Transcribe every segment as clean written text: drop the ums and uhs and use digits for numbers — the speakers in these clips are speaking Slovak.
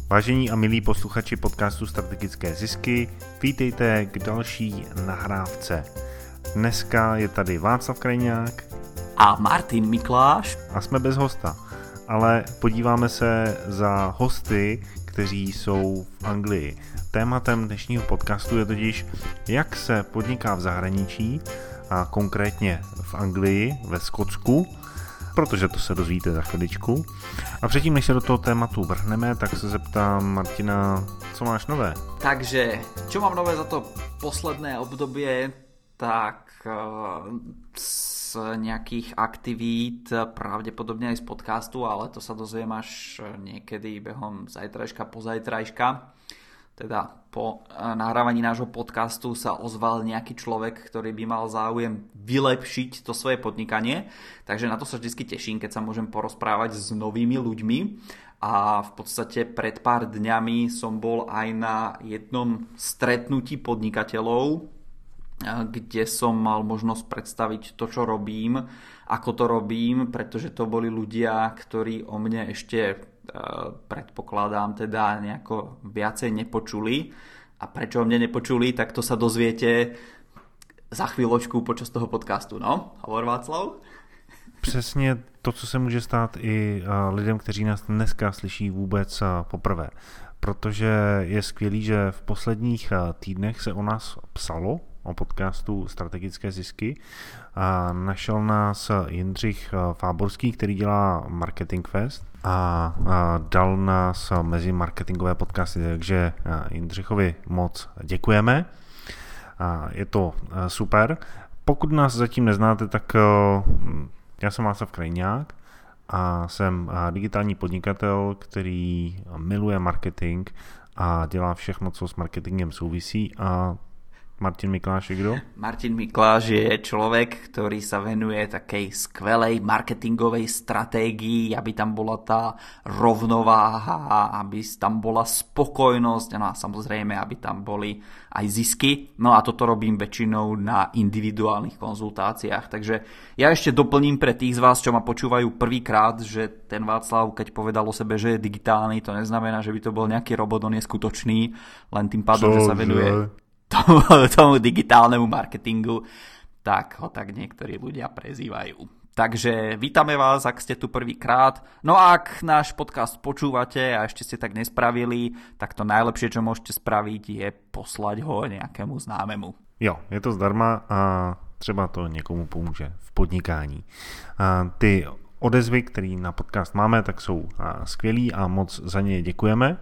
Vážení a milí posluchači podcastu Strategické zisky, vítejte k další nahrávce. Dneska je tady Václav Krajňák a Martin Mikláš a jsme bez hosta, ale podíváme se za hosty, kteří jsou v Anglii. Tématem dnešního podcastu je totiž, jak se podniká v zahraničí, a konkrétně v Anglii, ve Skotsku, protože to se dozvíte za chviličku. A předtím, než se do toho tématu vrhneme, tak se zeptám Martina, co máš nové? Takže, čo mám nové za to posledné obdobie, tak z nejakých aktivít, pravdepodobne aj z podcastu, ale to sa dozviem až niekedy behom zajtrajška, pozajtrajška. Teda po nahrávaní nášho podcastu sa ozval nejaký človek, ktorý by mal záujem vylepšiť to svoje podnikanie. Takže na to sa vždy teším, keď sa môžem porozprávať s novými ľuďmi. A v podstate pred pár dňami som bol aj na jednom stretnutí podnikateľov, kde som mal možnosť predstaviť to, čo robím, ako to robím, pretože to boli ľudia, ktorí o mne ešte predpokladám teda nejako viacej nepočuli. A prečo o mne nepočuli, tak to sa dozviete za chvíľočku počas toho podcastu. No, hovor Václav. Přesně to, co se může stát i lidem, kteří nás dneska slyší vůbec poprvé. Protože je skvělý, že v posledních týdnech se o nás psalo, o podcastu Strategické zisky. A našel nás Jindřich Fáborský, který dělá Marketing Fest a dal nás mezi marketingové podcasty, takže Jindřichovi moc děkujeme. Je to super. Pokud nás zatím neznáte, tak já jsem Václav Krajňák a jsem digitální podnikatel, který miluje marketing a dělá všechno, co s marketingem souvisí. A Martin Mikláš je kdo? Martin Mikláš je človek, ktorý sa venuje takej skvelej marketingovej stratégii, aby tam bola tá rovnováha, aby tam bola spokojnosť, no a samozrejme, aby tam boli aj zisky. No a toto robím väčšinou na individuálnych konzultáciách. Takže ja ešte doplním pre tých z vás, čo ma počúvajú prvýkrát, že ten Václav, keď povedal o sebe, že je digitálny, to neznamená, že by to bol nejaký robot, on je skutočný, len tým pádom, že sa venuje tomu digitálnemu marketingu, tak ho tak niektorí ľudia prezývajú. Takže vítame vás, ak ste tu prvýkrát. No a ak náš podcast počúvate a ešte ste tak nespravili, tak to najlepšie, čo môžete spraviť, je poslať ho nejakému známemu. Jo, je to zdarma a třeba to někomu pomůže v podnikání. Ty odezvy, které na podcast máme, tak jsou skvělý a moc za ně děkujeme.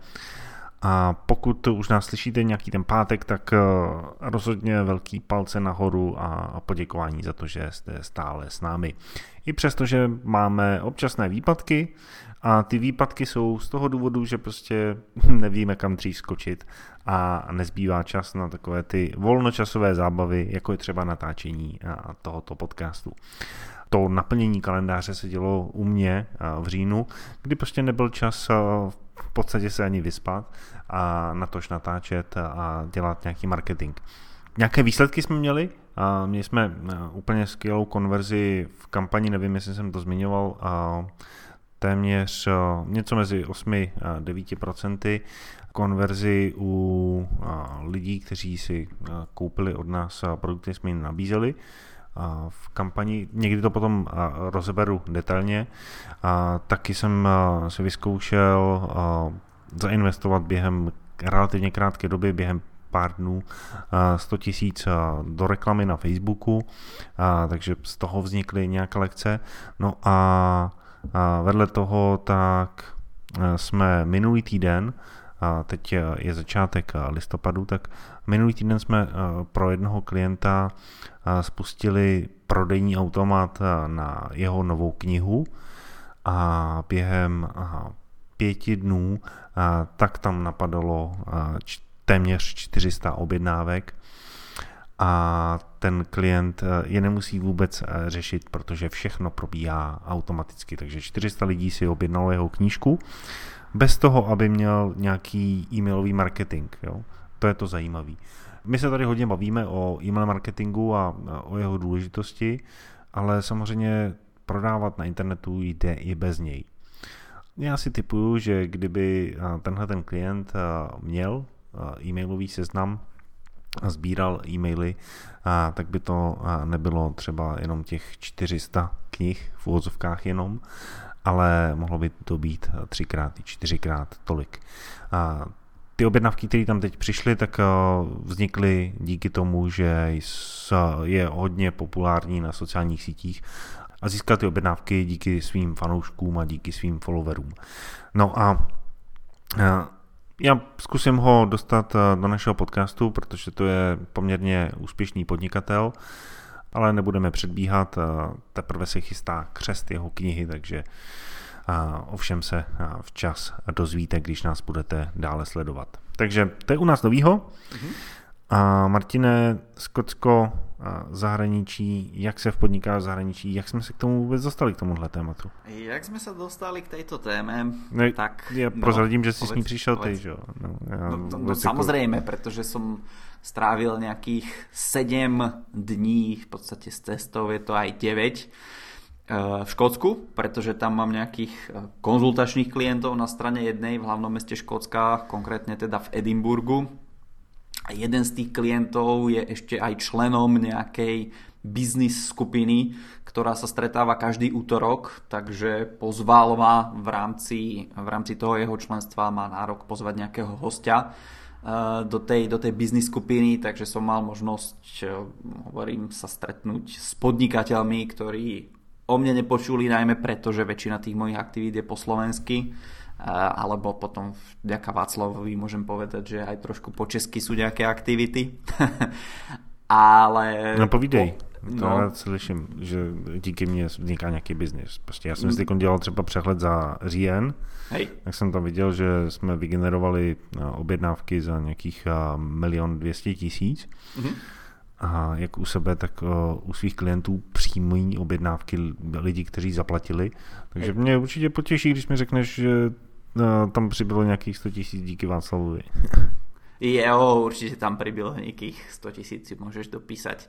A pokud už nás slyšíte nějaký ten pátek, tak rozhodně velký palce nahoru a poděkování za to, že jste stále s námi. I přesto, že máme občasné výpadky a ty výpadky jsou z toho důvodu, že prostě nevíme kam dřív skočit a nezbývá čas na takové ty volnočasové zábavy, jako je třeba natáčení tohoto podcastu. To naplnění kalendáře se dělo u mě v říjnu, kdy prostě nebyl čas v podstatě se ani vyspat a natož natáčet a dělat nějaký marketing. Nějaké výsledky jsme měli. Měli jsme úplně skvělou konverzi v kampani, nevím, jestli jsem to zmiňoval, téměř něco mezi 8-9% konverzi u lidí, kteří si koupili od nás produkty, jsme jim nabízeli v kampani. Někdy to potom rozeberu detailně. Taky jsem si vyzkoušel zainvestovat během relativně krátké doby, během pár dnů 100 000 do reklamy na Facebooku, takže z toho vznikly nějaké lekce. No a vedle toho tak jsme minulý týden, teď je začátek listopadu, tak minulý týden jsme pro jednoho klienta spustili prodejní automat na jeho novou knihu a během 5 dnů tak tam napadalo téměř 400 objednávek a ten klient je nemusí vůbec řešit, protože všechno probíhá automaticky, takže 400 lidí si objednalo jeho knížku bez toho, aby měl nějaký e-mailový marketing. Jo? To je to zajímavé. My se tady hodně bavíme o e-mail marketingu a o jeho důležitosti, ale samozřejmě prodávat na internetu jde i bez něj. Já si tipuju, že kdyby tenhle ten klient měl e-mailový seznam a sbíral e-maily, tak by to nebylo třeba jenom těch 400 knih v úvodzovkách jenom, ale mohlo by to být 3x i 4x tolik. Ty objednávky, které tam teď přišly, tak vznikly díky tomu, že je hodně populární na sociálních sítích a získal ty objednávky díky svým fanouškům a díky svým followerům. No a já zkusím ho dostat do našeho podcastu, protože to je poměrně úspěšný podnikatel, ale nebudeme předbíhat, teprve se chystá křest jeho knihy, takže ovšem se včas dozvíte, když nás budete dále sledovat. Takže to je u nás novýho. A Martine, Skotsko, zahraničí, jak se podniká v zahraničí, jak jsme se k tomu vůbec dostali, k tomuhle tématu? Jak jsme se dostali k této téme, tak... Já prozradím, že jsi s ní přišel ty, že jo? Samozrejme, pretože som strávil nejakých 7 dní, v podstate z testov je to aj 9, v Škótsku, pretože tam mám nejakých konzultačných klientov na strane jednej v hlavnom meste Škótska, konkrétne teda v Edinburgu. A jeden z tých klientov je ešte aj členom nejakej biznis skupiny, ktorá sa stretáva každý útorok, takže pozval ma v rámci toho jeho členstva, má nárok pozvať nejakého hostia do tej biznis skupiny, takže som mal možnosť, hovorím, sa stretnúť s podnikateľmi, ktorí o mne nepočuli, najmä preto, že väčšina tých mojich aktivít je po slovensky, alebo potom vďaka Václavovi môžem povedať, že aj trošku po česky sú nejaké aktivity. Ale... No povídej, to já slyším, že díky mně vzniká nějaký biznis. Prostě já jsem si dělal třeba přehled za říjen, tak jsem tam viděl, že jsme vygenerovali objednávky za nějakých 1 200 000. A jak u sebe, tak u svých klientů přijímají objednávky lidí, kteří zaplatili. Takže mě určitě potěší, když mi řekneš, že tam přibylo nějakých 100 000 díky Václavovi. Jo, určite tam pribylo nejakých 100 000, si môžeš dopísať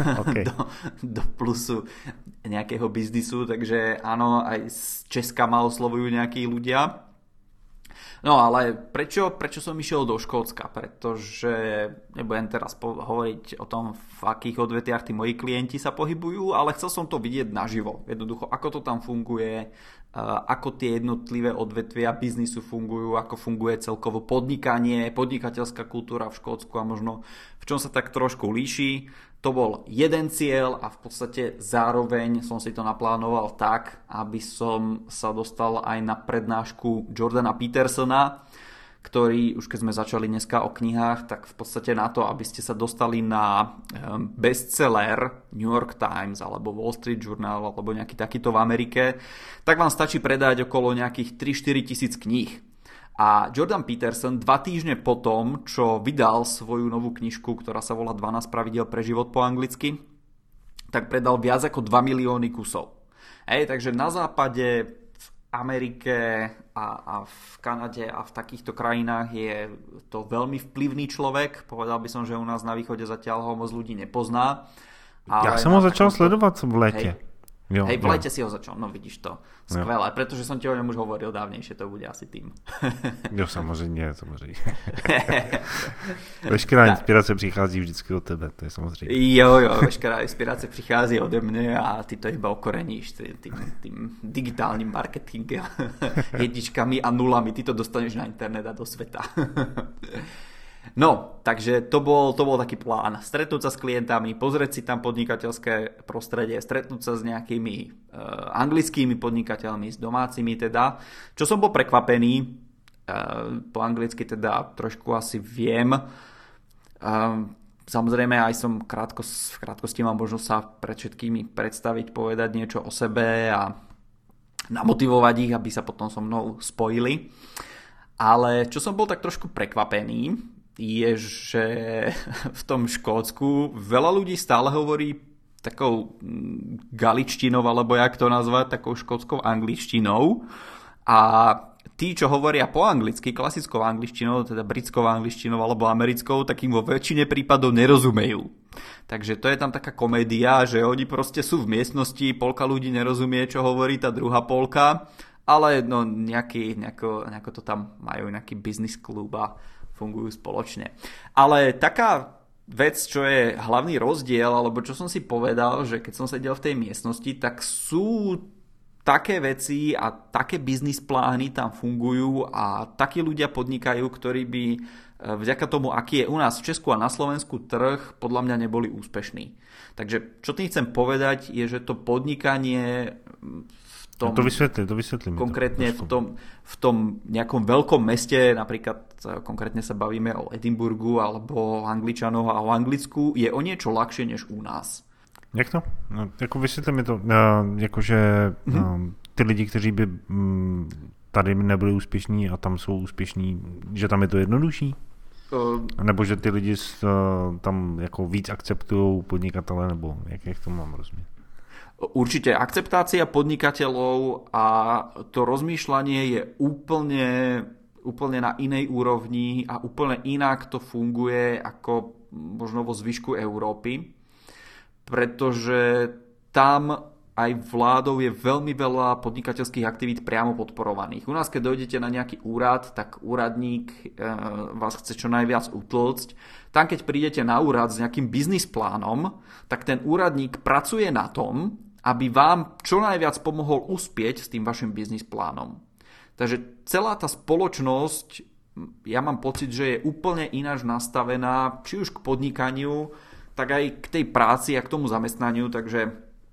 do plusu nejakého biznisu, takže áno, aj z Česka ma oslovujú nejakí ľudia. No ale prečo som išiel do Škótska? Pretože nebudem teraz hovoriť o tom, v akých odvetviach tí moji klienti sa pohybujú, ale chcel som to vidieť naživo. Jednoducho, ako to tam funguje, ako tie jednotlivé odvetvia biznisu fungujú, ako funguje celkovo podnikanie, podnikateľská kultúra v Škótsku a možno v čom sa tak trošku líši. To bol jeden cieľ a v podstate zároveň som si to naplánoval tak, aby som sa dostal aj na prednášku Jordana Petersona, ktorý, už keď sme začali dneska o knihách, tak v podstate na to, aby ste sa dostali na bestseller New York Times alebo Wall Street Journal alebo nejaký takýto v Amerike, tak vám stačí predať okolo nejakých 3-4 tisíc kníh. A Jordan Peterson 2 týždne potom, čo vydal svoju novú knižku, ktorá sa volá 12 pravidiel pre život po anglicky, tak predal viac ako 2 milióny kusov. Takže na západe, v Amerike a v Kanade a v takýchto krajinách je to veľmi vplyvný človek. Povedal by som, že u nás na východe zatiaľ ho moc ľudí nepozná. Ale ja som ho začal sledovať v lete. V lete si ho začal, no vidíš to. Skvelé, pretože som ti o ňom už hovoril dávnejšie, to bude asi tým. Jo, samozřejmě. Veškerá inspirace přichází vždycky od tebe, to je samozřejmě. Jo, veškerá inspirace přichází ode mne a ty to iba okoreníš tým digitálnym marketingem, jedničkami a nulami, ty to dostaneš na internet a do sveta. No, takže to bol taký plán. Stretnúť sa s klientami, pozrieť si tam podnikateľské prostredie, stretnúť sa s nejakými anglickými podnikateľmi, s domácimi teda. Čo som bol prekvapený, po anglicky teda trošku asi viem. Samozrejme aj som v krátkosti mám možnosť sa pred všetkými predstaviť, povedať niečo o sebe a namotivovať ich, aby sa potom so mnou spojili. Ale čo som bol tak trošku prekvapený, je, že v tom Škótsku veľa ľudí stále hovorí takou galičtinou, alebo jak to nazvať, takou škótskou angličtinou. A tí, čo hovoria po anglicky, klasickou angličtinou, teda britskou angličtinou alebo americkou, tak im vo väčšine prípadov nerozumejú. Takže to je tam taká komédia, že oni proste sú v miestnosti, polka ľudí nerozumie, čo hovorí tá druhá polka ale no nejako to tam majú, nejaký business klub a fungujú spoločne. Ale taká vec, čo je hlavný rozdiel, alebo čo som si povedal, že keď som sedel v tej miestnosti, tak sú také veci a také biznis plány tam fungujú a takí ľudia podnikajú, ktorí by vďaka tomu, aký je u nás v Česku a na Slovensku trh, podľa mňa neboli úspešní. Takže čo tým chcem povedať, je, že to podnikanie v tom, to vysvetlím. Konkrétne v tom nejakom veľkom meste, napríklad konkrétne sa bavíme o Edinburgu alebo o Angličanoch a o Anglicku, je o niečo ľahšie než u nás. Jak to? No, jako vysvětli mi to, jakože ty lidi, kteří by tady nebyli úspěšní a tam jsou úspěšní, že tam je to jednodušší? Nebo že ty lidi tam jako víc akceptují podnikatele, nebo jak to mám rozumět? Určite akceptácia podnikateľov a to rozmýšľanie je úplne na inej úrovni a úplne inak to funguje ako možno vo zvyšku Európy, pretože tam aj vládou je veľmi veľa podnikateľských aktivít priamo podporovaných. U nás, keď dojdete na nejaký úrad, tak úradník vás chce čo najviac utlcť. Tam, keď prídete na úrad s nejakým biznis plánom, tak ten úradník pracuje na tom, aby vám čo najviac pomohol uspieť s tým vašim biznis plánom. Takže celá tá spoločnosť, ja mám pocit, že je úplne ináč nastavená, či už k podnikaniu, tak aj k tej práci a k tomu zamestnaniu, takže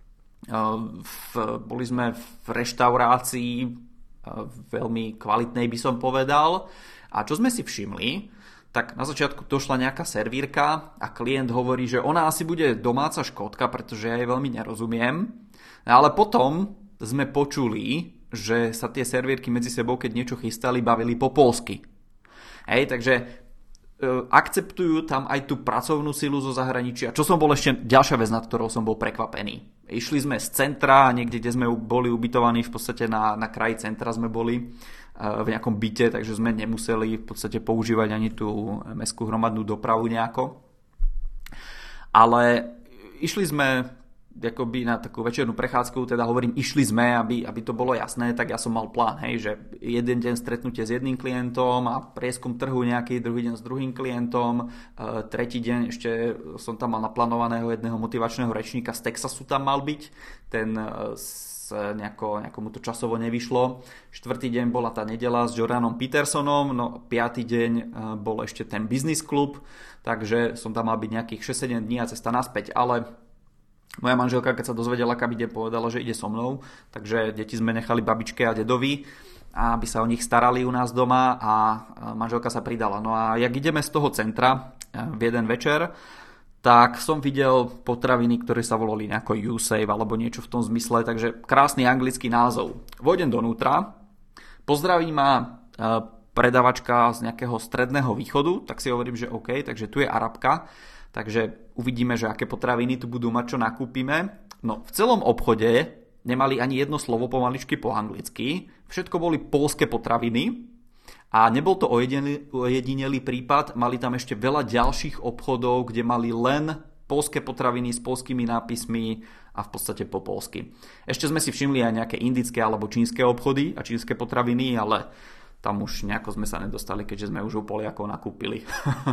boli sme v reštaurácii veľmi kvalitnej, by som povedal. A čo sme si všimli, tak na začiatku došla nejaká servírka a klient hovorí, že ona asi bude domáca Škótka, pretože ja jej veľmi nerozumiem. Ale potom sme počuli, že sa tie servírky medzi sebou, keď niečo chystali, bavili po poľsky. Takže akceptujú tam aj tú pracovnú silu zo zahraničia. Čo som bol ešte ďalšia vec, nad ktorou som bol prekvapený. Išli sme z centra, niekde, kde sme boli ubytovaní, v podstate na kraji centra sme boli v nejakom byte, takže sme nemuseli v podstate používať ani tú mestskú hromadnú dopravu nejako. Ale išli sme akoby na takú večernú prechádzku, teda hovorím, išli sme, aby to bolo jasné, tak ja som mal plán, že jeden deň stretnutie s jedným klientom a prieskum trhu nejaký, druhý deň s druhým klientom, tretí deň ešte som tam mal naplánovaného jedného motivačného rečníka z Texasu tam mal byť, ten nejako mu to časovo nevyšlo. Štvrtý deň bola tá nedeľa s Jordanom Petersonom, no piatý deň bol ešte ten business klub, takže som tam mal byť nejakých 6-7 dní a cesta naspäť, ale moja manželka, keď sa dozvedela, kam ide, povedala, že ide so mnou, takže deti sme nechali babičke a dedovi, aby sa o nich starali u nás doma a manželka sa pridala. No a jak ideme z toho centra v jeden večer, tak som videl potraviny, ktoré sa volali nejako U-Save alebo niečo v tom zmysle, takže krásny anglický názov. Vojdem donútra, pozdraví ma predavačka z nejakého stredného východu, tak si hovorím, že OK, takže tu je Arabka, takže uvidíme, že aké potraviny tu budú mať, čo nakúpime. No, v celom obchode nemali ani jedno slovo pomaličky po anglicky, všetko boli poľské potraviny a nebol to ojedinelý prípad, mali tam ešte veľa ďalších obchodov, kde mali len poľské potraviny s poľskými nápismi a v podstate po poľsky. Ešte sme si všimli aj nejaké indické alebo čínske obchody a čínske potraviny, ale tam už nejako sme sa nedostali, keďže sme už u Poliakov nakúpili.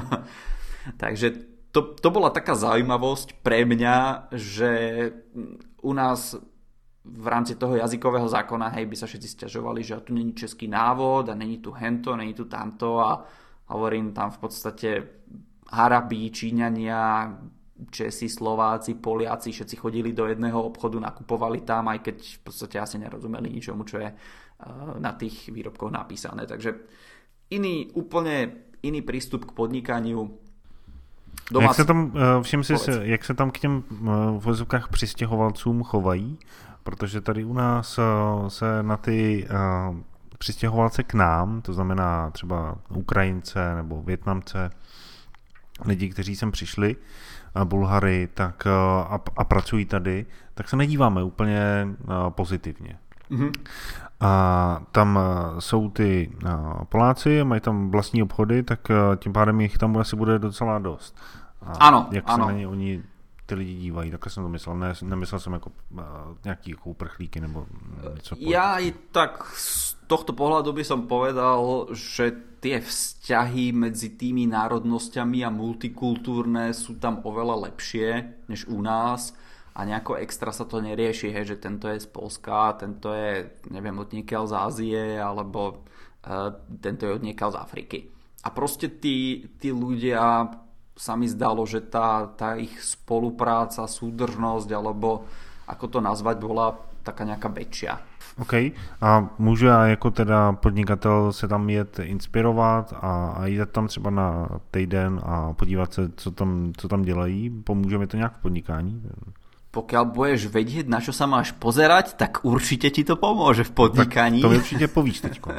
Takže to bola taká zaujímavosť pre mňa, že u nás v rámci toho jazykového zákona by sa všetci sťažovali, že tu není český návod a není tu hento, není tu tamto a hovorím tam v podstate Arabi, Číňania, Česi, Slováci, Poliaci, všetci chodili do jedného obchodu, nakupovali tam, aj keď v podstate asi nerozumeli ničomu, čo je na tých výrobkoch napísané. Takže úplne iný prístup k podnikaniu. Jak se tam, všim si, jak se tam k těm v vozovkách přistěhovalcům chovají? Protože tady u nás se na ty přistěhovalce k nám, to znamená třeba Ukrajince nebo Vietnamce, lidi, kteří sem přišli, Bulhary, tak a pracují tady, tak se nedíváme úplně pozitivně. Mm-hmm. A tam jsou ty Poláci, mají tam vlastní obchody, tak tím pádem jich tam asi bude docela dost. Ano, jak ano. se na ně oni ty lidi dívají, takhle jsem to myslel, nemyslel jsem jako nějaký jako uprchlíky nebo něco. Ja i tak z tohto pohľadu by som povedal, že tie vzťahy medzi tými národnosťami a multikultúrne sú tam oveľa lepšie než u nás a nejako extra sa to nerieši, hej, že tento je z Polska, tento je, neviem, odniekiaľ z Ázie alebo tento je odniekiaľ z Afriky. A proste tí ľudia, sa mi zdalo, že tá ich spolupráca, súdržnosť, alebo ako to nazvať, bola taká nejaká väčšia. OK. A můžu já jako teda podnikatel se tam jet inspirovat a jít tam třeba na týden a podívat se, co tam dělají? Pomůže mi to nějak v podnikání? Pokiaľ budeš vedieť, na čo sa máš pozerať, tak určite ti to pomôže v podnikaní. Tak to mi určite povíš teďko.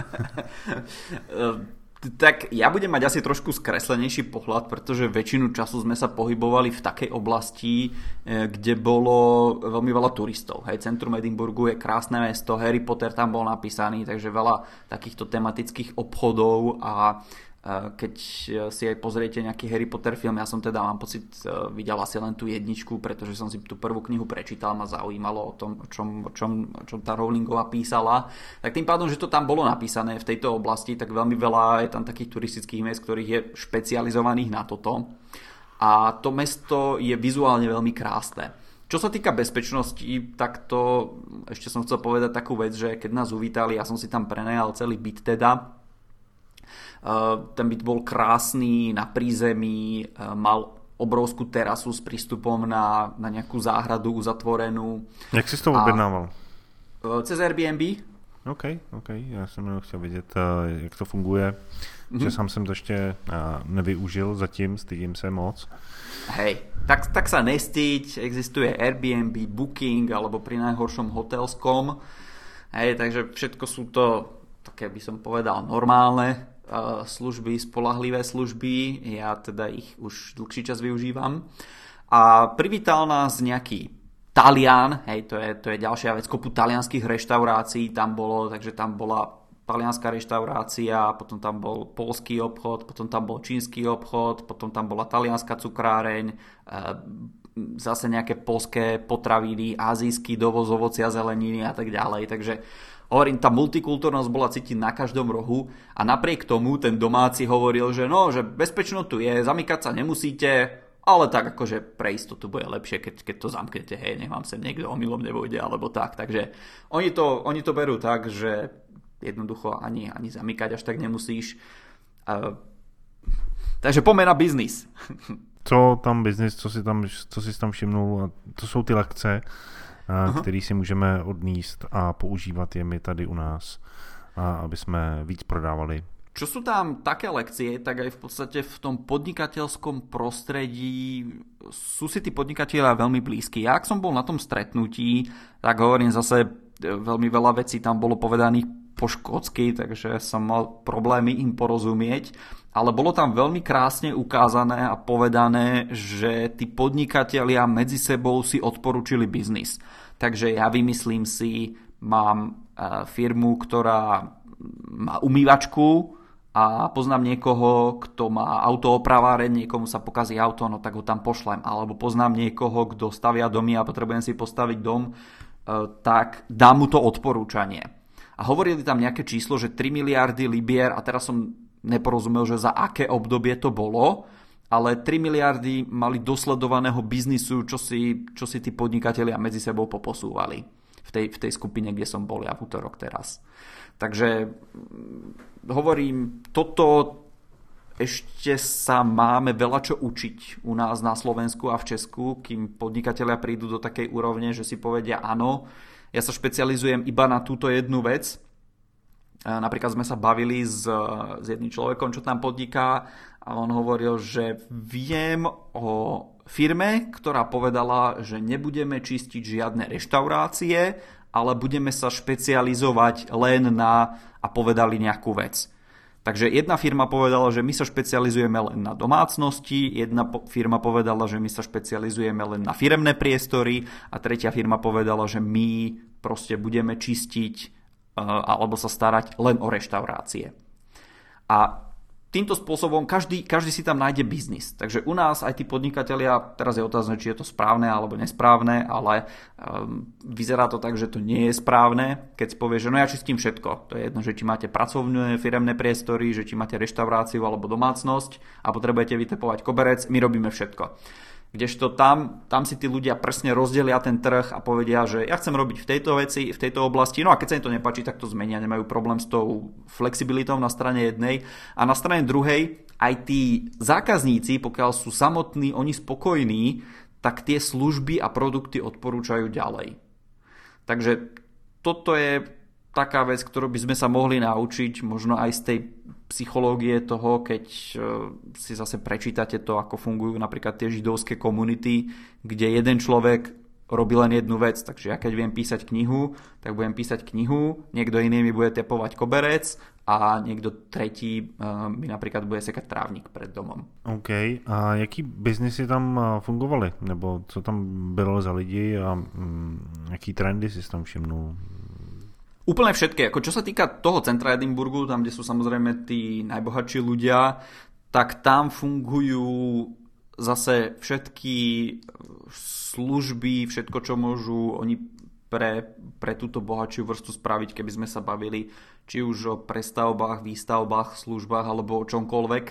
Tak ja budem mať asi trošku skreslenejší pohľad, pretože väčšinu času sme sa pohybovali v takej oblasti, kde bolo veľmi veľa turistov. Hej, centrum Edinburgu je krásne mesto, Harry Potter tam bol napísaný, takže veľa takýchto tematických obchodov a keď si aj pozriete nejaký Harry Potter film, ja som teda, mám pocit, videl asi len tú jedničku, pretože som si tú prvú knihu prečítal, ma zaujímalo o tom, o čom tá Rowlingová písala, tak tým pádom, že to tam bolo napísané v tejto oblasti, tak veľmi veľa je tam takých turistických miest, ktorých je špecializovaných na toto a to mesto je vizuálne veľmi krásne. Čo sa týka bezpečnosti, tak to ešte som chcel povedať takú vec, že keď nás uvítali, ja som si tam prenajal celý byt teda. Ten byt bol krásny, na prízemí, mal obrovskú terasu s prístupom na nejakú záhradu uzatvorenú. Jak si to objednával? Cez Airbnb. OK, já jsem jenom chtěl vědět, jak to funguje, že sám jsem to ještě nevyužil zatím, stydím se moc. Hej, tak sa nestýď, existuje Airbnb, Booking alebo pri najhoršom Hotels.com. Hej, takže všetko sú to, také by som povedal, normálne služby, spolahlivé služby, ja teda ich už dlhší čas využívam. A privítal nás nejaký Talian, hej, to je ďalšia vec, kopu talianských reštaurácií tam bolo, takže tam bola talianská reštaurácia, potom tam bol poľský obchod, potom tam bol čínsky obchod, potom tam bola talianská cukráreň, zase nejaké poľské potraviny, azijský dovoz ovocia, zeleniny a tak ďalej, takže hovorím, tá multikultúrnosť bola cítiť na každom rohu a napriek tomu ten domáci hovoril, že no, že bezpečno tu je, zamykať sa nemusíte, ale tak akože pre istotu bude lepšie, keď to zamknete, hej, nech vám sem niekto omylom nevojde, alebo tak. Takže oni to berú tak, že jednoducho ani zamykať až tak nemusíš. Takže poďme na biznis. Co tam biznis, co si tam všimnul, to jsou ty lekce, který si můžeme odníst a používat je my tady u nás, aby jsme víc prodávali. Čo sú tam také lekcie, tak aj v podstate v tom podnikateľskom prostredí sú si tí podnikatelia veľmi blízki. Ja, ak som bol na tom stretnutí, tak hovorím zase, veľmi veľa vecí tam bolo povedaných po škótsky, takže som mal problémy im porozumieť, ale bolo tam veľmi krásne ukázané a povedané, že tí podnikatelia medzi sebou si odporúčili biznis. Takže ja vymyslím si, mám firmu, ktorá má umývačku a poznám niekoho, kto má autoopraváreň, niekomu sa pokazí auto, no tak ho tam pošlem. Alebo poznám niekoho, kto stavia domy a potrebujem si postaviť dom, tak dám mu to odporúčanie. A hovorili tam nejaké číslo, že 3 miliardy libier, a teraz som neporozumel, že za aké obdobie to bolo, ale 3 miliardy mali dosledovaného biznisu, čo si tí podnikatelia medzi sebou poposúvali v tej skupine, kde som bol ja v útorok teraz. Takže hovorím, toto ešte sa máme veľa čo učiť u nás na Slovensku a v Česku, kým podnikatelia prídu do takej úrovne, že si povedia áno, ja sa špecializujem iba na túto jednu vec. Napríklad sme sa bavili s jedným človekom, čo tam podniká, a on hovoril, že viem o firme, ktorá povedala, že nebudeme čistiť žiadne reštaurácie, ale budeme sa špecializovať len na, a povedali nejakú vec. Takže jedna firma povedala, že my sa špecializujeme len na domácnosti, jedna firma povedala, že my sa špecializujeme len na firemné priestory a tretia firma povedala, že my proste budeme čistiť alebo sa starať len o reštaurácie. A týmto spôsobom každý si tam nájde biznis. Takže u nás aj tí podnikatelia, teraz je otázne, či je to správne alebo nesprávne, ale vyzerá to tak, že to nie je správne, keď si povie, že no ja čistím všetko. To je jedno, že či máte pracovné firemné priestory, že či máte reštauráciu alebo domácnosť a potrebujete vytepovať koberec, my robíme všetko. Kdežto tam si tí ľudia presne rozdelia ten trh a povedia, že ja chcem robiť v tejto veci, v tejto oblasti, no a keď sa im to nepáči, tak to zmenia, nemajú problém s tou flexibilitou na strane jednej a na strane druhej aj tí zákazníci, pokiaľ sú samotní, oni spokojní, tak tie služby a produkty odporúčajú ďalej. Takže toto je taká vec, ktorú by sme sa mohli naučiť, možno aj z tej psychológie toho, keď si zase prečítate to, ako fungujú napríklad tie židovské komunity, kde jeden človek robí len jednu vec. Takže ja keď viem písať knihu, tak budem písať knihu, niekto iný mi bude tepovať koberec a niekto tretí mi napríklad bude sekať trávnik pred domom. OK. A jaký biznesy tam fungovaly? Nebo co tam bylo za lidi a jaký trendy si tam všimnul? Úplne všetké. Ako čo sa týka toho centra Edinburgu, tam, kde sú samozrejme tí najbohatší ľudia, tak tam fungujú zase všetky služby, všetko, čo môžu oni pre túto bohatšiu vrstu spraviť, keby sme sa bavili či už o prestavbách, výstavbách, službách alebo o čomkoľvek.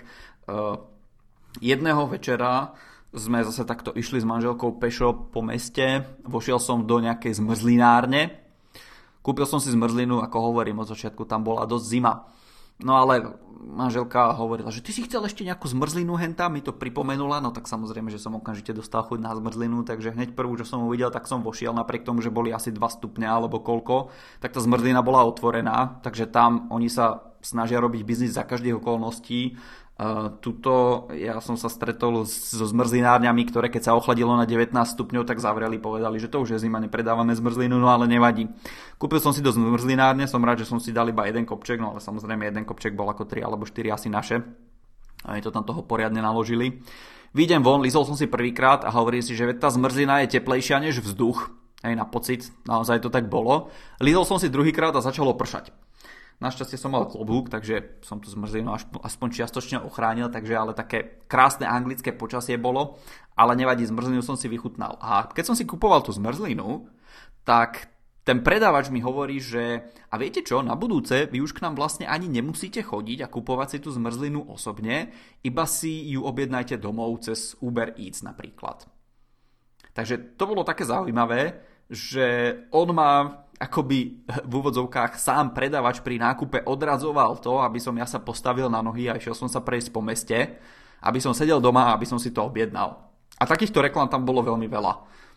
Jedného večera sme zase takto išli s manželkou pešo po meste, vošiel som do nejakej zmrzlinárne. Kúpil som si zmrzlinu, ako hovorím, od začiatku tam bola dosť zima. No ale manželka hovorila, že ty si chcel ešte nejakú zmrzlinu henta, mi to pripomenula, no tak samozrejme, že som okamžite dostal chuť na zmrzlinu, takže hneď prvú, čo som uvidel, tak som vošiel, napriek tomu, že boli asi 2 stupne alebo koľko, tak tá zmrzlina bola otvorená, takže tam oni sa snažia robiť biznis za každých okolností. Tuto ja som sa stretol so zmrzlinárňami, ktoré keď sa ochladilo na 19 stupňov, tak zavreli, povedali, že to už je zima, nepredávame zmrzlinu, no ale nevadí. Kúpil som si do zmrzlinárne, som rád, že som si dal iba jeden kopček, no ale samozrejme jeden kopček bol ako 3 alebo 4 asi naše. A mi to tam toho poriadne naložili. Výjdem von, lízol som si prvýkrát a hovorím si, že tá zmrzlina je teplejšia než vzduch. Aj na pocit, naozaj to tak bolo. Lízol som si druhýkrát a začalo pršať. Našťastie som mal klobúk, takže som tú zmrzlinu aspoň čiastočne ochránil, takže ale také krásne anglické počasie bolo, ale nevadí, zmrzlinu som si vychutnal. A keď som si kupoval tú zmrzlinu, tak ten predávač mi hovorí, že a viete čo, na budúce vy už k nám vlastne ani nemusíte chodiť a kupovať si tú zmrzlinu osobne, iba si ju objednajte domov cez Uber Eats napríklad. Takže to bolo také zaujímavé, že on ma akoby v úvodzovkách sám predávač pri nákupe odradzoval to, aby som ja sa postavil na nohy a išiel som sa prejsť po meste, aby som sedel doma a aby som si to objednal. A takýchto reklám tam bolo veľmi veľa.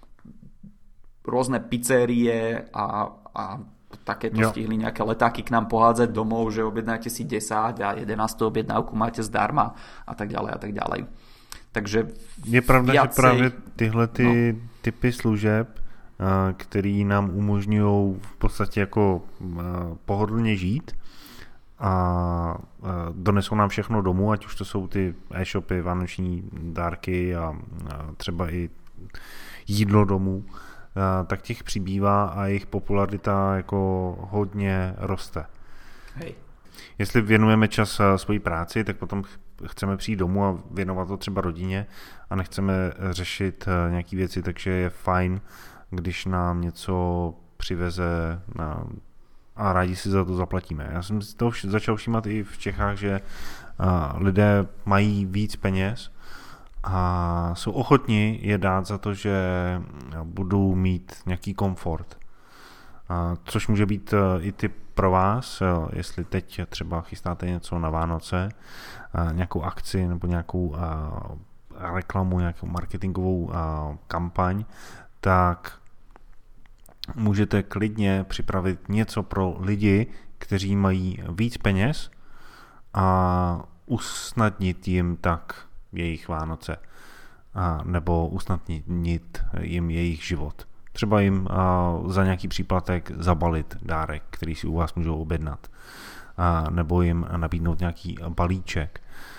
Rôzne pizzerie a takéto stihli nejaké letáky k nám pohádzať domov, že objednáte si 10 a 11 objednávku máte zdarma a tak ďalej a tak ďalej. Takže je pravda, že právě tyhle typy služeb, který nám umožňují v podstatě jako pohodlně žít a donesou nám všechno domů, ať už to jsou ty e-shopy, vánoční dárky a třeba i jídlo domů, tak těch přibývá a jejich popularita jako hodně roste. Hej. Jestli věnujeme čas svojí práci, tak potom chceme přijít domů a věnovat to třeba rodině a nechceme řešit nějaký věci, takže je fajn, když nám něco přiveze a rádi si za to zaplatíme. Já jsem si to začal všímat i v Čechách, že lidé mají víc peněz a jsou ochotni je dát za to, že budou mít nějaký komfort. Což může být i tip pro vás, jestli teď třeba chystáte něco na Vánoce, nějakou akci nebo nějakou reklamu, nějakou marketingovou kampaň, tak můžete klidně připravit něco pro lidi, kteří mají víc peněz a usnadnit jim tak jejich Vánoce nebo usnadnit jim jejich život. Třeba jim za nějaký příplatek zabalit dárek, který si u vás můžou objednat, nebo jim nabídnout nějaký balíček,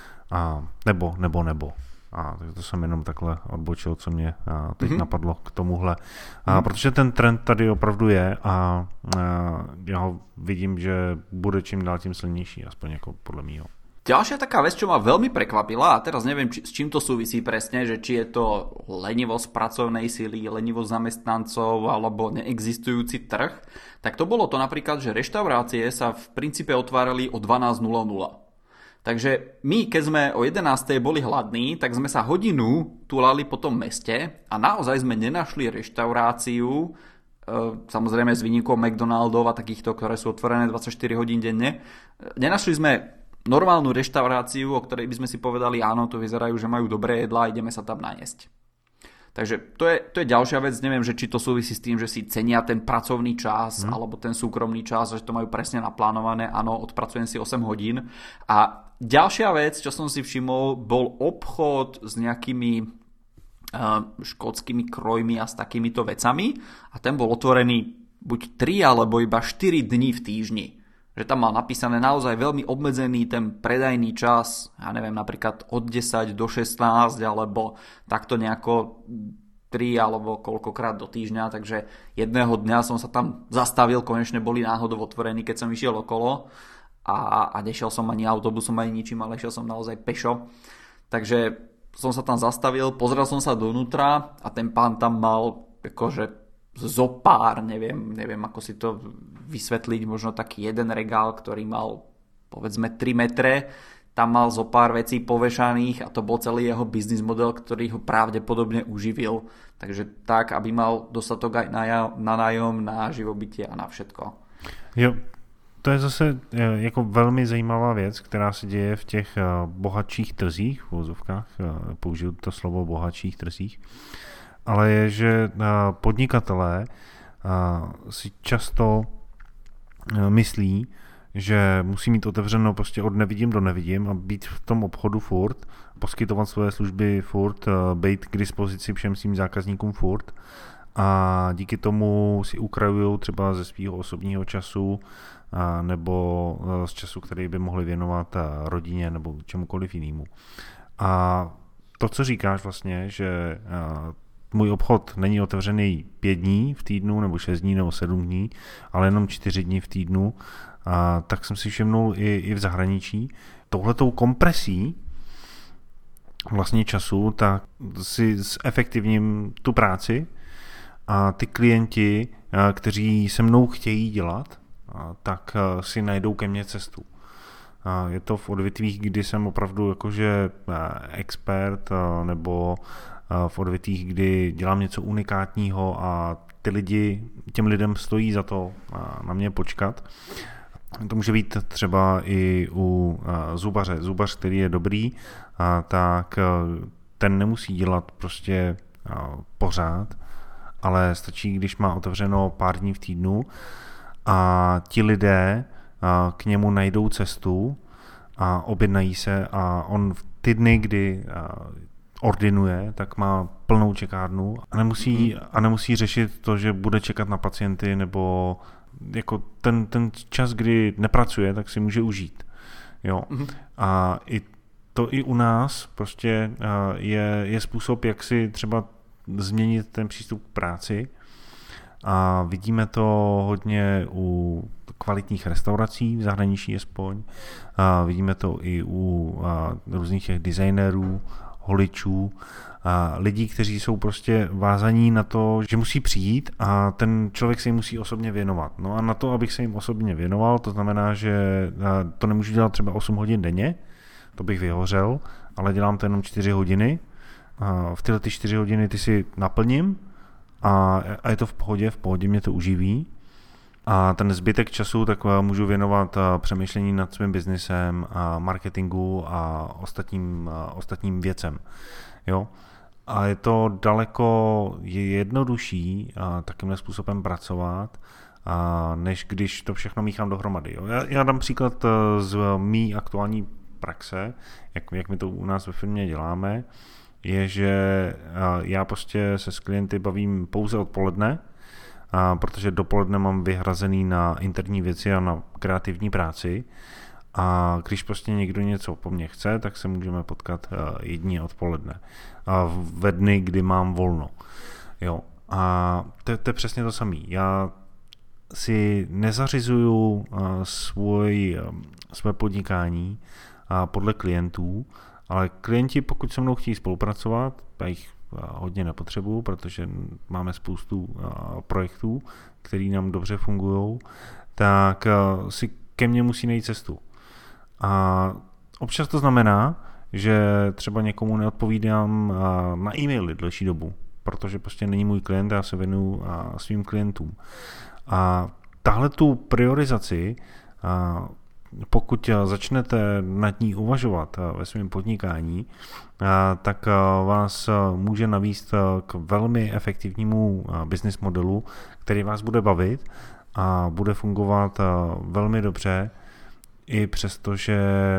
nebo. Tak to jsem jenom takhle odbočil, co mě teď napadlo k tomuhle. Protože ten trend tady opravdu je a já ho vidím, že bude čím dál tím silnější, aspoň jako podle mýho. Ďalšia taká vec, čo ma veľmi prekvapila, a teraz neviem, s čím to súvisí presne, že či je to lenivosť pracovnej sily, lenivosť zamestnancov alebo neexistujúci trh, tak to bolo to napríklad, že reštaurácie sa v princípe otvárali o 12:00. Takže my, keď sme o 11:00 boli hladní, tak sme sa hodinu túlali po tom meste a naozaj sme nenašli reštauráciu, samozrejme s výnimkou McDonaldov a takýchto, ktoré sú otvorené 24 hodín denne. Nenašli sme normálnu reštauráciu, o ktorej by sme si povedali, áno, to vyzerajú, že majú dobré jedlá, ideme sa tam najesť. Takže to je ďalšia vec, neviem, že či to súvisí s tým, že si cenia ten pracovný čas alebo ten súkromný čas, že to majú presne naplánované, áno, odpracujem si 8 hodín. A ďalšia vec, čo som si všimol, bol obchod s nejakými škótskymi krojmi a s takýmito vecami a ten bol otvorený buď 3 alebo iba 4 dní v týždni. Že tam mal napísané naozaj veľmi obmedzený ten predajný čas, ja neviem, napríklad od 10 do 16 alebo takto nejako 3 alebo koľkokrát do týždňa, takže jedného dňa som sa tam zastavil, konečne boli náhodou otvorení, keď som išiel okolo a nešiel som ani autobusom, ani ničím, ale išiel som naozaj pešo. Takže som sa tam zastavil, pozrel som sa donútra a ten pán tam mal akože zopár, neviem ako si to vysvetliť, možno taký jeden regál, ktorý mal povedzme 3 metre, tam mal zopár vecí povešaných a to bol celý jeho biznis model, ktorý ho pravdepodobne uživil. Takže tak, aby mal dostatok aj na nájom, na živobytie a na všetko. Jo, to je zase jako velmi zajímavá věc, která se děje v těch bohatších trzích, v uvozovkách, použiju to slovo bohatších trzích, ale je, že podnikatelé si často myslí, že musí mít otevřeno prostě od nevidím do nevidím a být v tom obchodu furt, poskytovat svoje služby furt, být k dispozici všem svým zákazníkům furt a díky tomu si ukrajují třeba ze svého osobního času nebo z času, který by mohli věnovat rodině nebo čemukoliv jinému. A to, co říkáš vlastně, že můj obchod není otevřený 5 dní v týdnu, nebo 6 dní, nebo 7 dní, ale jenom 4 dní v týdnu, tak jsem si všimnul i v zahraničí. Touhletou kompresí vlastně času, tak si zefektivním tu práci a ty klienti, kteří se mnou chtějí dělat, tak si najdou ke mně cestu. Je to v odvětvích, kdy jsem opravdu jakože expert, nebo v odvětvích, kdy dělám něco unikátního a těm lidem stojí za to na mě počkat. To může být třeba i u zubaře. Zubař, který je dobrý, tak ten nemusí dělat prostě pořád, ale stačí, když má otevřeno pár dní v týdnu a ti lidé k němu najdou cestu a objednají se a on v ty dny, kdy ordinuje, tak má plnou čekárnu a nemusí řešit to, že bude čekat na pacienty nebo jako ten čas, kdy nepracuje, tak si může užít. Jo. A i u nás prostě je způsob, jak si třeba změnit ten přístup k práci a vidíme to hodně u kvalitních restaurací v zahraničí aspoň. Vidíme to i u různých těch designérů, holičů, lidí, kteří jsou prostě vázaní na to, že musí přijít a ten člověk se jim musí osobně věnovat. No a na to, abych se jim osobně věnoval, to znamená, že to nemůžu dělat třeba 8 hodin denně, to bych vyhořel, ale dělám to jenom 4 hodiny. V tyhle 4 hodiny ty si naplním a je to v pohodě mě to uživí. A ten zbytek času tak můžu věnovat přemýšlení nad svým biznisem, marketingu a ostatním věcem. Jo? A je to daleko jednodušší takovýmhle způsobem pracovat, než když to všechno míchám dohromady. Jo? Já dám příklad z mý aktuální praxe, jak my to u nás ve firmě děláme, je, že já prostě se s klienty bavím pouze odpoledne, protože dopoledne mám vyhrazený na interní věci a na kreativní práci a když prostě někdo něco po mně chce, tak se můžeme potkat jedině odpoledne ve dny, kdy mám volno. Jo. A to je přesně to samé. Já si nezařizuju svoje podnikání podle klientů, ale klienti, pokud se mnou chtějí spolupracovat, já jich hodně nepotřebuju, protože máme spoustu projektů, které nám dobře fungují, tak si ke mně musí najít cestu. A občas to znamená, že třeba někomu neodpovídám na e-maily delší dobu, protože prostě není můj klient a já se věnuju svým klientům. A tahle tu priorizaci, pokud začnete nad ní uvažovat ve svém podnikání, tak vás může navést k velmi efektivnímu business modelu, který vás bude bavit a bude fungovat velmi dobře, i přesto, že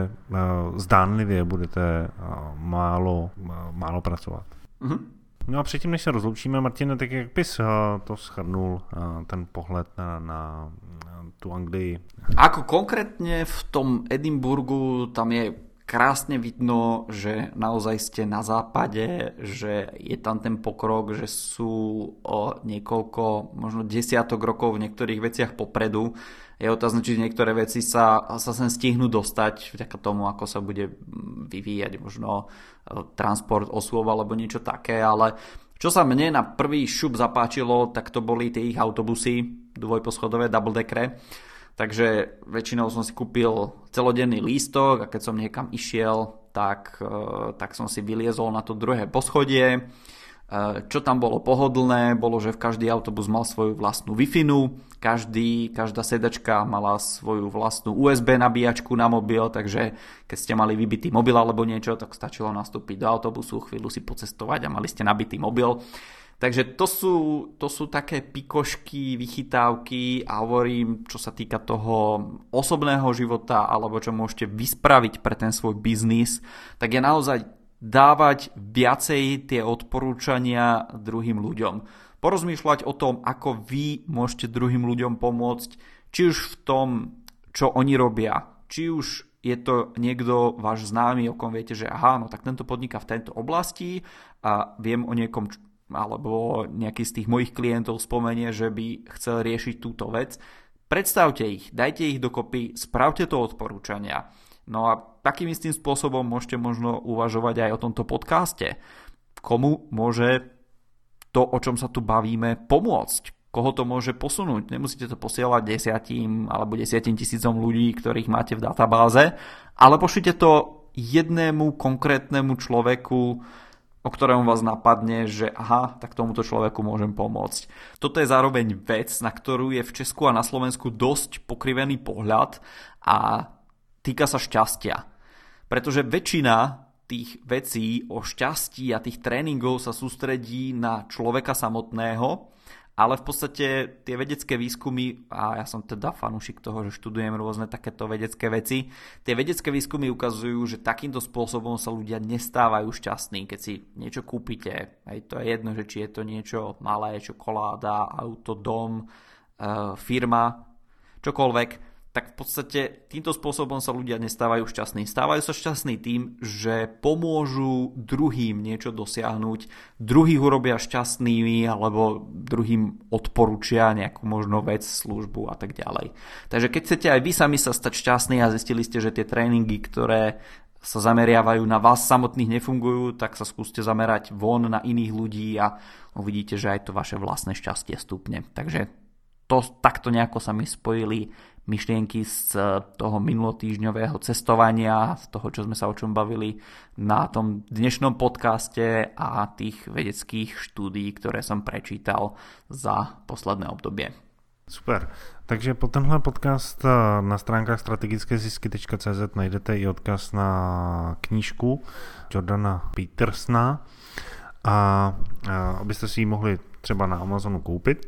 zdánlivě budete málo pracovat. Mm-hmm. No a předtím, než se rozloučíme, Martine, tak jak bys to shrnul, ten pohled na tu Anglii? Ako konkrétne v tom Edinburgu, tam je krásne vidno, že naozaj ste na západe, že je tam ten pokrok, že sú o niekoľko, možno desiatok rokov v niektorých veciach popredu. Je otázne, či niektoré veci sa sem stihnú dostať vďaka tomu, ako sa bude vyvíjať možno transport osôb alebo niečo také, ale čo sa mne na prvý šup zapáčilo, tak to boli tie ich autobusy dvojposchodové, double deckere. Takže väčšinou som si kúpil celodenný lístok a keď som niekam išiel, tak som si vyliezol na to druhé poschodie. Čo tam bolo pohodlné, bolo, že v každý autobus mal svoju vlastnú Wi-Fi-nu, každá sedačka mala svoju vlastnú USB nabíjačku na mobil, takže keď ste mali vybitý mobil alebo niečo, tak stačilo nastúpiť do autobusu, chvíľu si pocestovať a mali ste nabitý mobil. Takže to sú také pikošky, vychytávky a hovorím, čo sa týka toho osobného života alebo čo môžete vyspraviť pre ten svoj biznis, tak je naozaj dávať viacej tie odporúčania druhým ľuďom. Porozmýšľať o tom, ako vy môžete druhým ľuďom pomôcť, či už v tom, čo oni robia, či už je to niekto váš známy, o kom viete, že aha, no tak tento podniká v tejto oblasti a viem o niekom, alebo nejaký z tých mojich klientov spomenie, že by chcel riešiť túto vec. Predstavte ich, dajte ich dokopy, spravte to odporúčania. No a takým istým spôsobom môžete možno uvažovať aj o tomto podcaste. Komu môže to, o čom sa tu bavíme, pomôcť? Koho to môže posunúť? Nemusíte to posielať 10 alebo 10 000 ľudí, ktorých máte v databáze, ale pošlite to jednému konkrétnemu človeku, o ktorom vás napadne, že aha, tak tomuto človeku môžem pomôcť. Toto je zároveň vec, na ktorú je v Česku a na Slovensku dosť pokrivený pohľad a týka sa šťastia. Pretože väčšina tých vecí o šťastí a tých tréningov sa sústredí na človeka samotného, ale v podstate tie vedecké výskumy, a ja som teda fanúšik toho, že študujem rôzne takéto vedecké veci, tie vedecké výskumy ukazujú, že takýmto spôsobom sa ľudia nestávajú šťastní, keď si niečo kúpite. Hej, to je jedno, že či je to niečo malé, čokoláda, auto, dom, firma, čokoľvek, tak v podstate týmto spôsobom sa ľudia nestávajú šťastní. Stávajú sa šťastní tým, že pomôžu druhým niečo dosiahnuť, druhých urobia šťastnými alebo druhým odporúčia nejakú možno vec, službu a tak ďalej. Takže keď chcete aj vy sami sa stať šťastní a zistili ste, že tie tréningy, ktoré sa zameriavajú na vás samotných nefungujú, tak sa skúste zamerať von na iných ľudí a uvidíte, že aj to vaše vlastné šťastie stúpne. Takže takto nejako sa mi spojili myšlienky z toho minulotýždňového cestovania, z toho, čo sme sa o čom bavili na tom dnešnom podcaste a tých vedeckých štúdií, ktoré som prečítal za posledné obdobie. Super. Takže po tenhle podcast na stránkách strategickézisky.cz najdete i odkaz na knížku Jordana Petersona a abyste si ji mohli třeba na Amazonu koupit.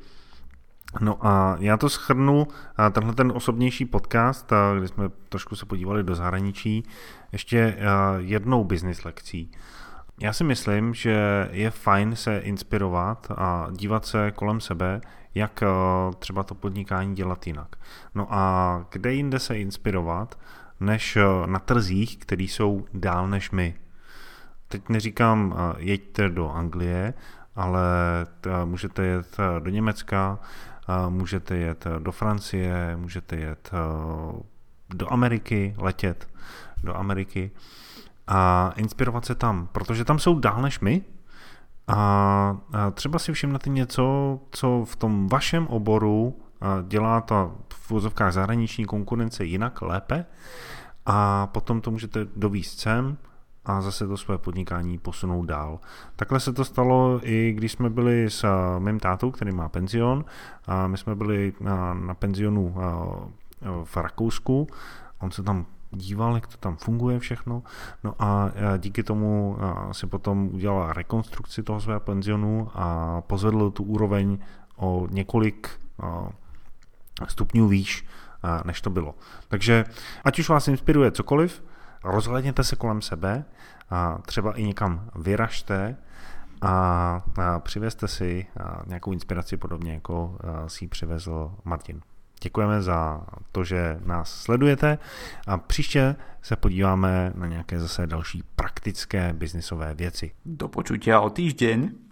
No a já to shrnu, tenhle ten osobnější podcast, kde jsme trošku se podívali do zahraničí, ještě jednou business lekcí. Já si myslím, že je fajn se inspirovat a dívat se kolem sebe, jak třeba to podnikání dělat jinak. No a kde jinde se inspirovat, než na trzích, které jsou dál než my. Teď neříkám jeďte do Anglie, ale můžete jet do Německa, můžete jet do Francie, můžete jet do Ameriky, letět. do Ameriky a inspirovat se tam, protože tam jsou dál než my a třeba si všimnete něco, co v tom vašem oboru dělá ta v vozovkách zahraniční konkurence jinak, lépe a potom to můžete dovízt sem a zase to své podnikání posunout dál. Takhle se to stalo i když jsme byli s mým tátou, který má penzion. A my jsme byli na penzionu v Rakousku. On se tam díval, jak to tam funguje všechno. No a díky tomu si potom udělal rekonstrukci toho svého penzionu a pozvedl tu úroveň o několik stupňů výš, než to bylo. Takže ať už vás inspiruje cokoliv, rozhlédněte se kolem sebe a třeba i někam vyražte a přivezte si nějakou inspiraci podobně, jako si ji přivezl Martin. Děkujeme za to, že nás sledujete a příště se podíváme na nějaké zase další praktické biznisové věci. Do počutia o týždeň.